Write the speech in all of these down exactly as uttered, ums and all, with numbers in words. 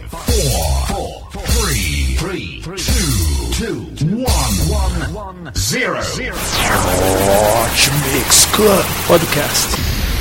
four, four, three, three, two, two, one, one, zero. Hot Mix Club Podcast.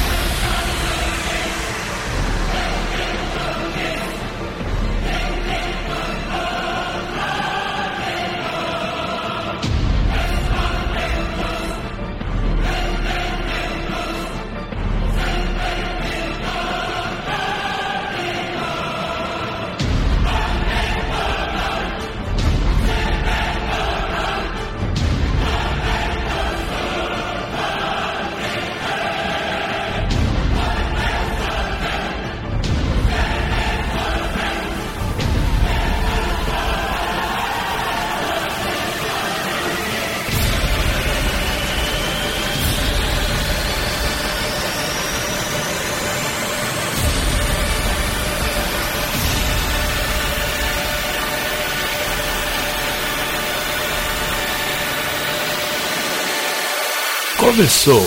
Começou.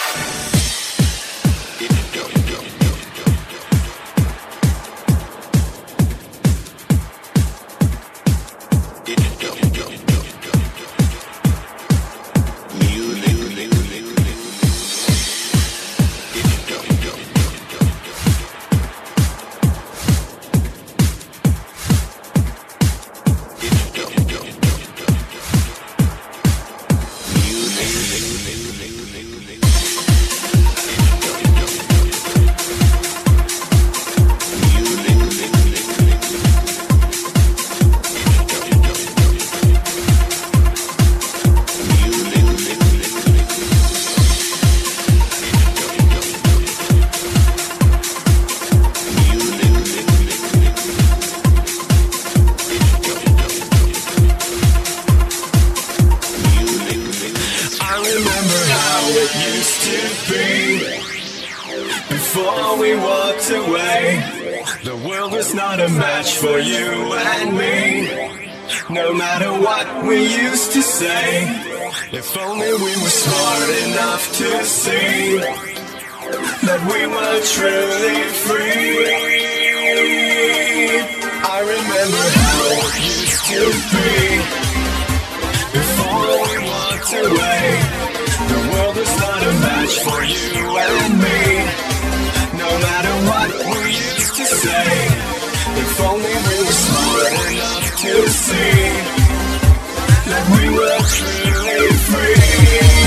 If only we were smart enough to see that we were truly free. I remember how it used to be before we walked away. The world was not a match for you and me. No matter what we used to say, if only we were smart enough to see that we were truly free.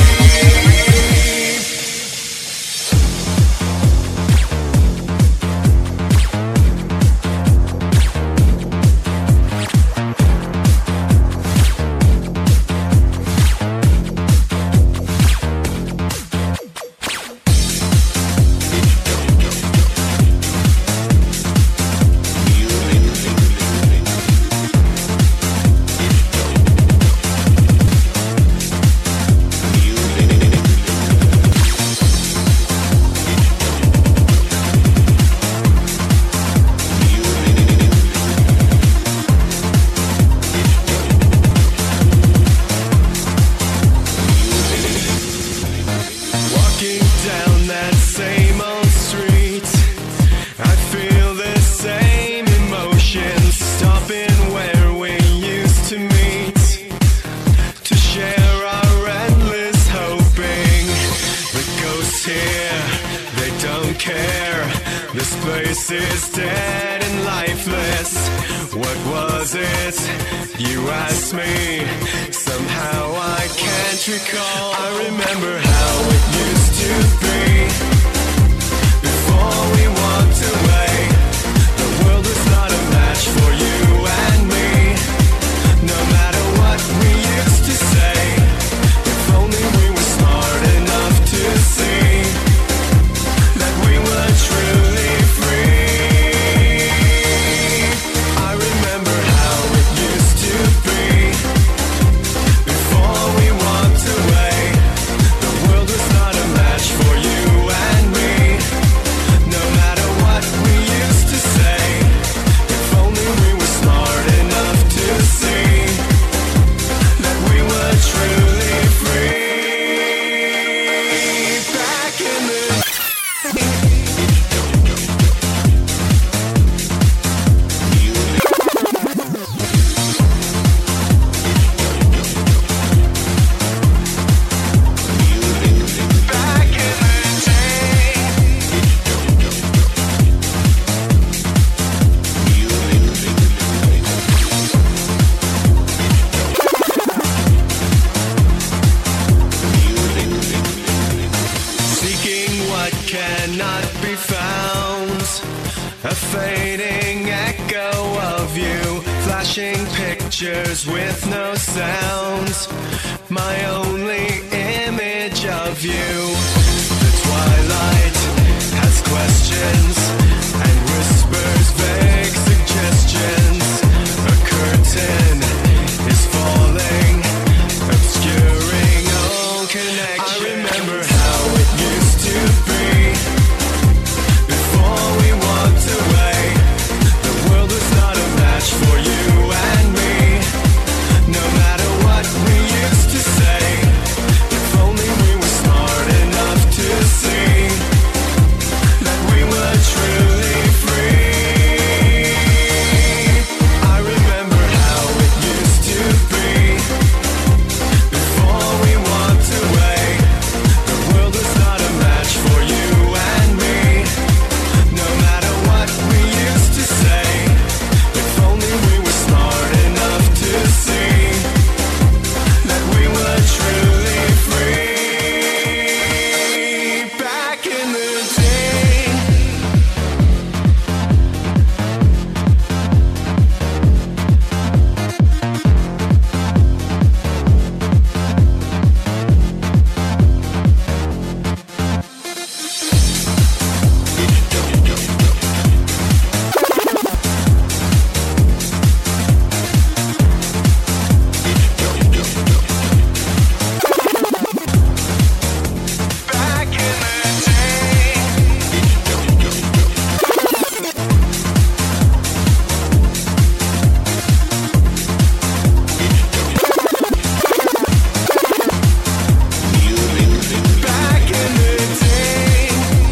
We fading echo of you, flashing pictures with no sounds, my only image of you. The twilight has questions and whispers vague suggestions. A curtain is falling, obscuring all connection. I remember how it used to be before we walked away. The world was not a match for you and me. No matter what we used to say, if only we were smart enough to see that we were truly free. I remember how it used to be before we walked away. The world was not a match for you and me. No matter what we used to say, if only we were smart enough to see that we were truly free. Back in the day. Back in the day. Back in the day.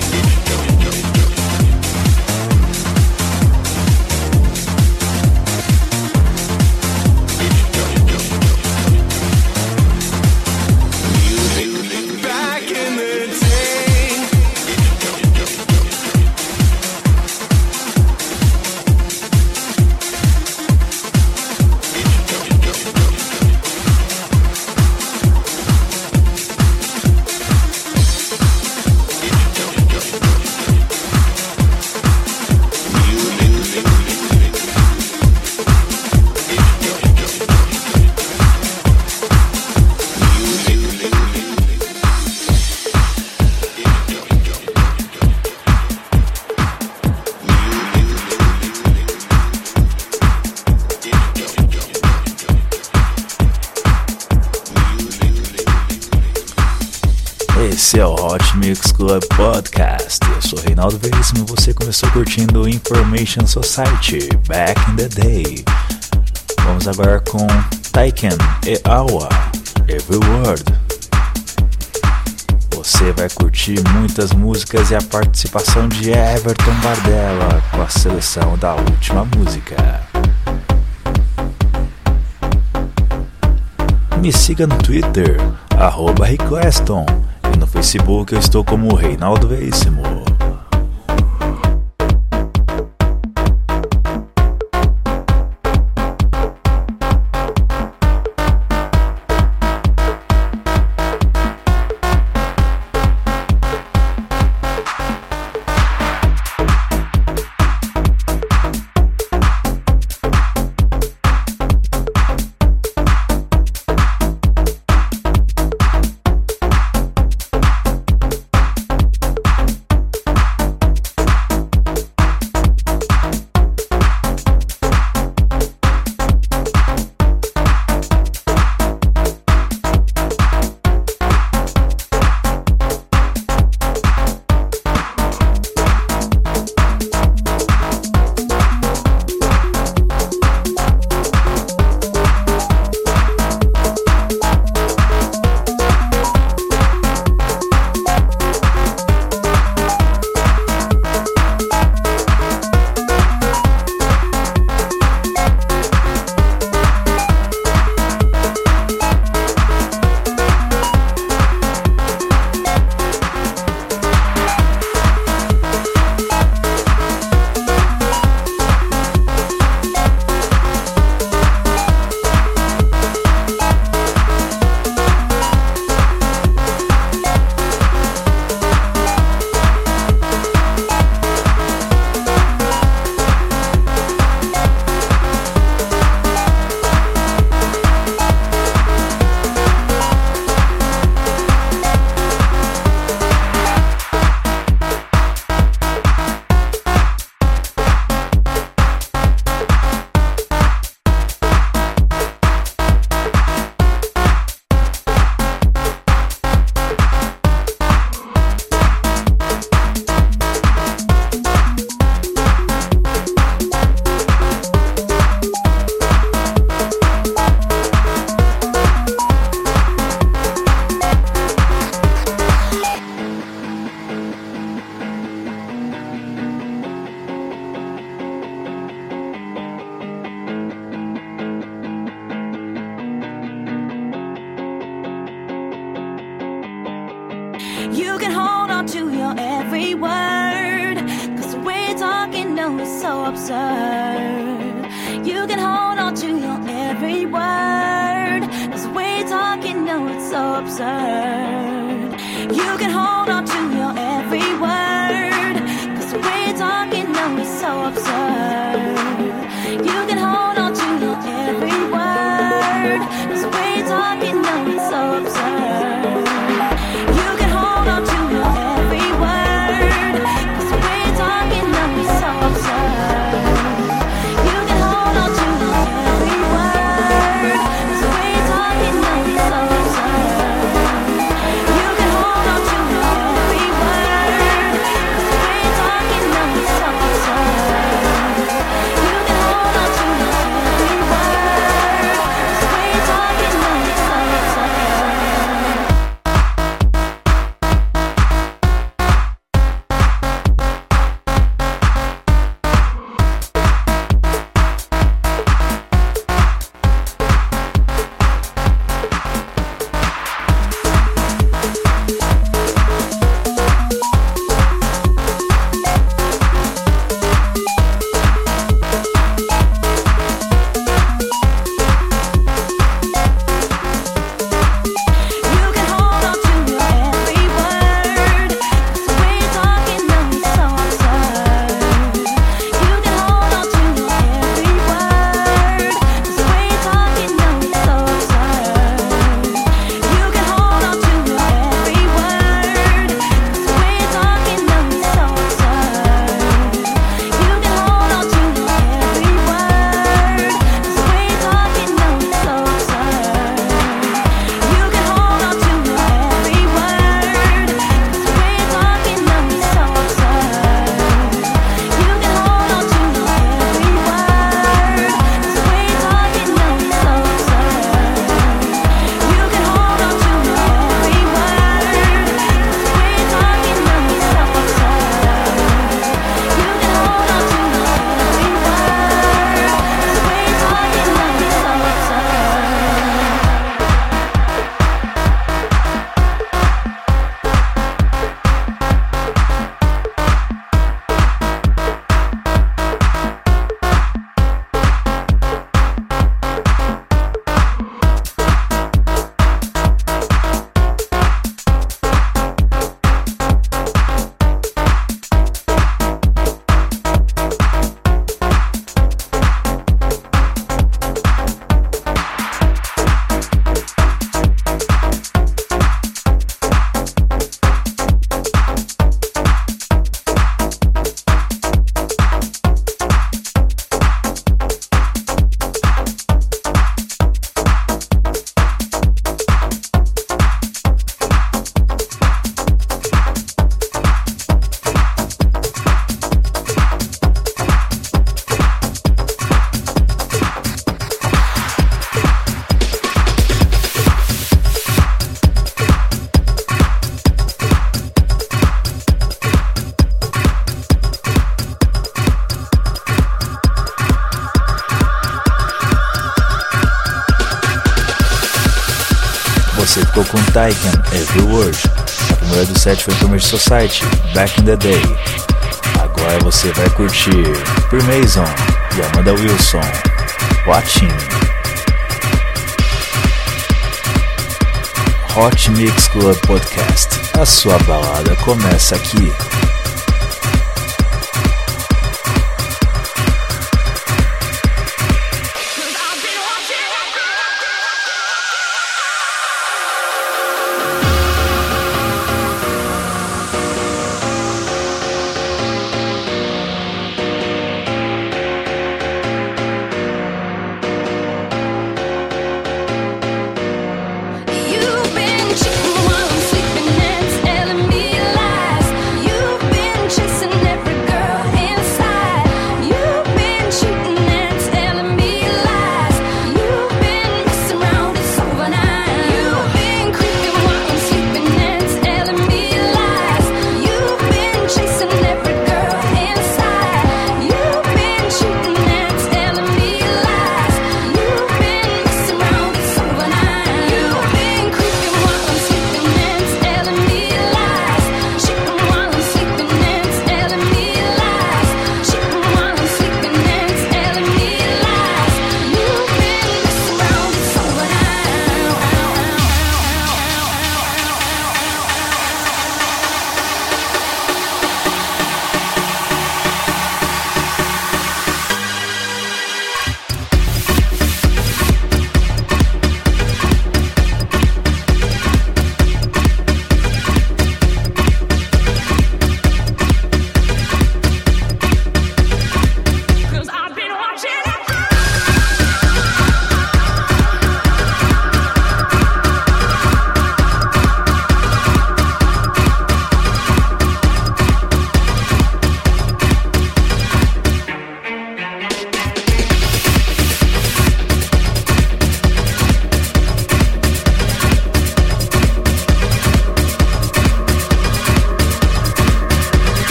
Back in the day. Esse é o Hot Mix Club Podcast. Eu sou Reinaldo Veríssimo e você começou curtindo Information Society, Back in the Day. Vamos agora com Taiken e Awa, Every Word. Você vai curtir muitas músicas e a participação de Everton Bardella com a seleção da última música. Me siga no Twitter, arroba Requeston, e no Facebook eu estou como Reinaldo Veríssimo. to your every word, 'cause the way you're talking, no, it's so absurd. You can hold on to your every word, 'cause the way you're talking, no, it's so absurd. You can hold on to your every word, 'cause the way you're talking, no, it's so absurd. You can hold on to your every word, 'cause the way you're talking, no, it's so absurd. You can hold on to your every word, 'cause the way you're talking, no, it's so absurd. You can hold on to your every word, 'cause the way you're talking, no, it's so absurd. You can hold on to your every word, 'cause the way you're talking, no, it's so absurd. You can hold on to your every word, 'cause the way you're talking, no, it's so absurd. You can hold on to your every word, 'cause the way you're talking, no, it's so absurd. You can hold on to your every word, 'cause the way you're talking, no, it's so absurd. You can hold on to your every word, 'cause the way you're talking, no, it's so absurd. You can hold on to your every word, 'cause the way you're talking, no, it's so absurd. You can hold on to your every word, 'cause the way you're talking, no, it's so absurd. You can hold on to your every word, 'cause the way you're talking, no, it's so absurd. You can hold on to your every word, 'cause the way you're talking, no, it's so absurd. You can hold on to your every word, 'cause the way you're talking, no, it's so absurd. Você ficou com Taiken, Every Word. A primeira do set foi Information Society, Back in the Day. Agora você vai curtir Freemason e Amanda Wilson, Watching. Hot Mix Club Podcast. A sua balada começa aqui. You've been cheating while I'm sleeping and telling me lies. You've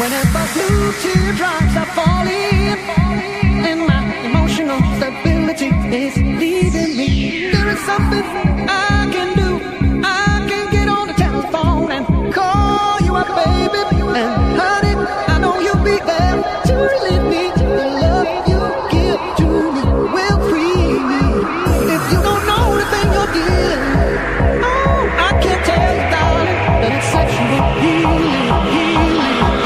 Whenever blue teardrops are falling, and my emotional stability is leaving me, there is something I can do. I can get on the telephone and call you up, baby. And honey, I know you'll be there to relieve me. The love you give to me will free me. If you don't know the thing you're getting, oh, I can't tell you, darling, that it's sexual healing, healing,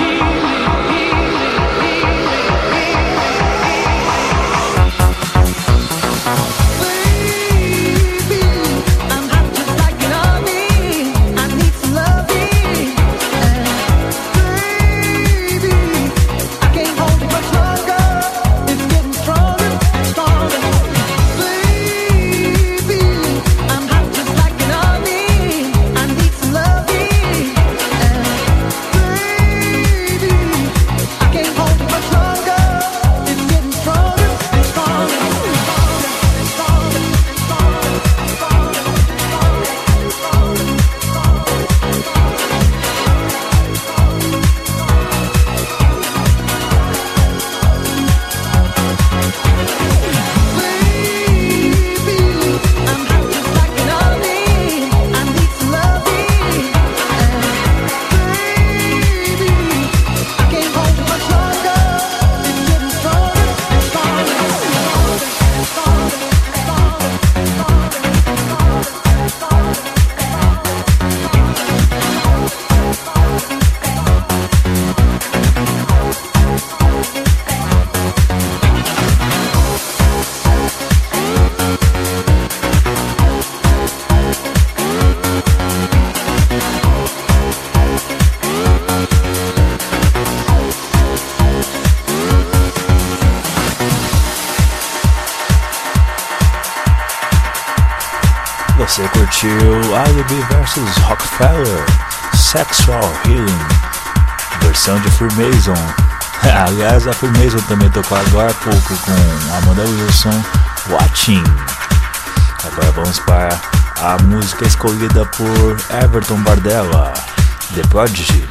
baby. I'm hot just like you love me. I need some loving, and baby, I can't hold it much longer. It's getting stronger and stronger. Baby, I'm hot just like you love me. I need some loving, and baby, I can't hold it much longer. It's getting stronger and stronger. Baby, I'm hot just like you love me. I need some loving, and baby, I can't hold it much longer. It's getting stronger and stronger. Você curtiu I B versus Rockefeller, Sexual Healing, versão de Freemason. Aliás, a Freemason também tocou agora há pouco com Amanda Wilson, Watching. Agora vamos para a música escolhida por Everton Bardella, The Prodigy,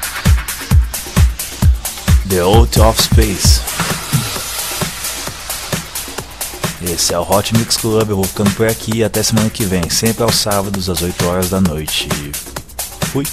The Out of Space. Esse é o Hot Mix Club, eu vou ficando por aqui e até semana que vem, sempre aos sábados às oito horas da noite. Fui!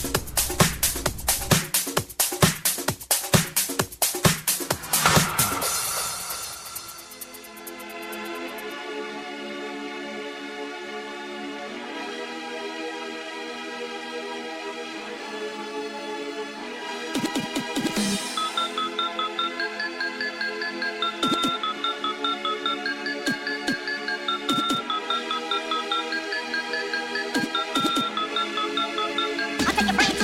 I'll take your brains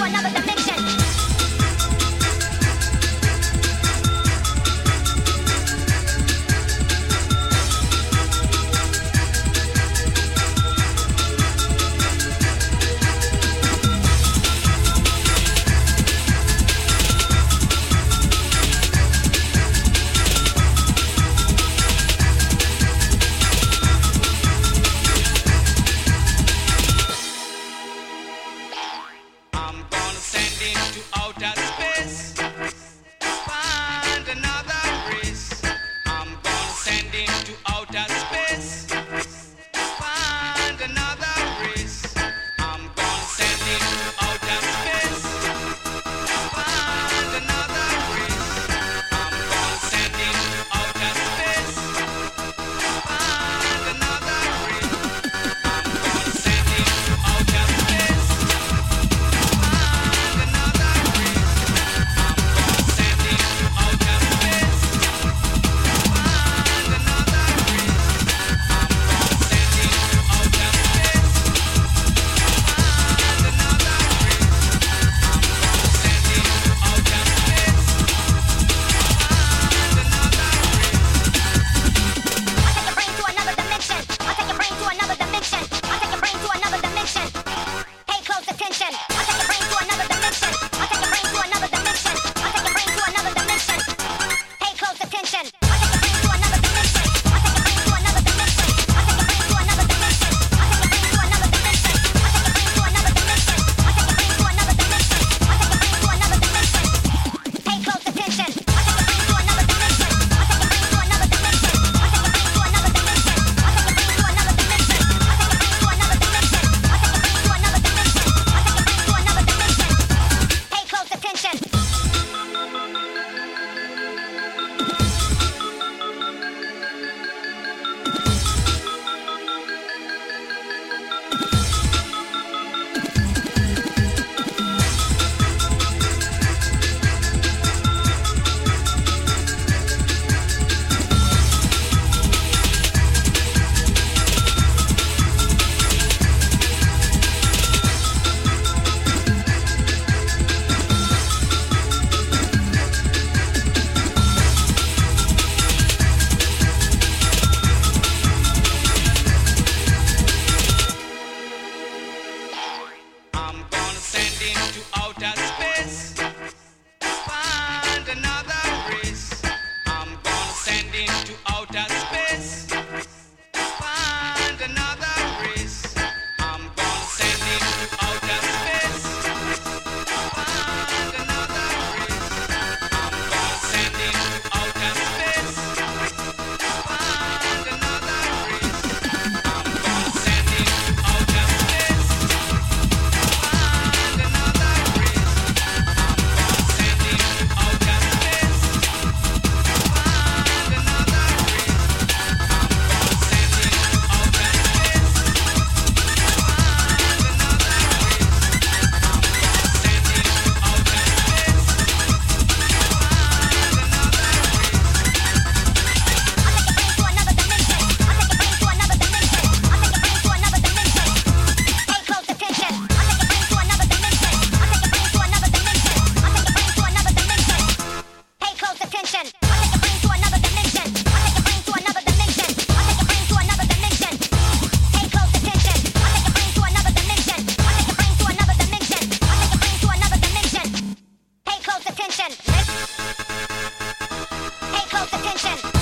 attention.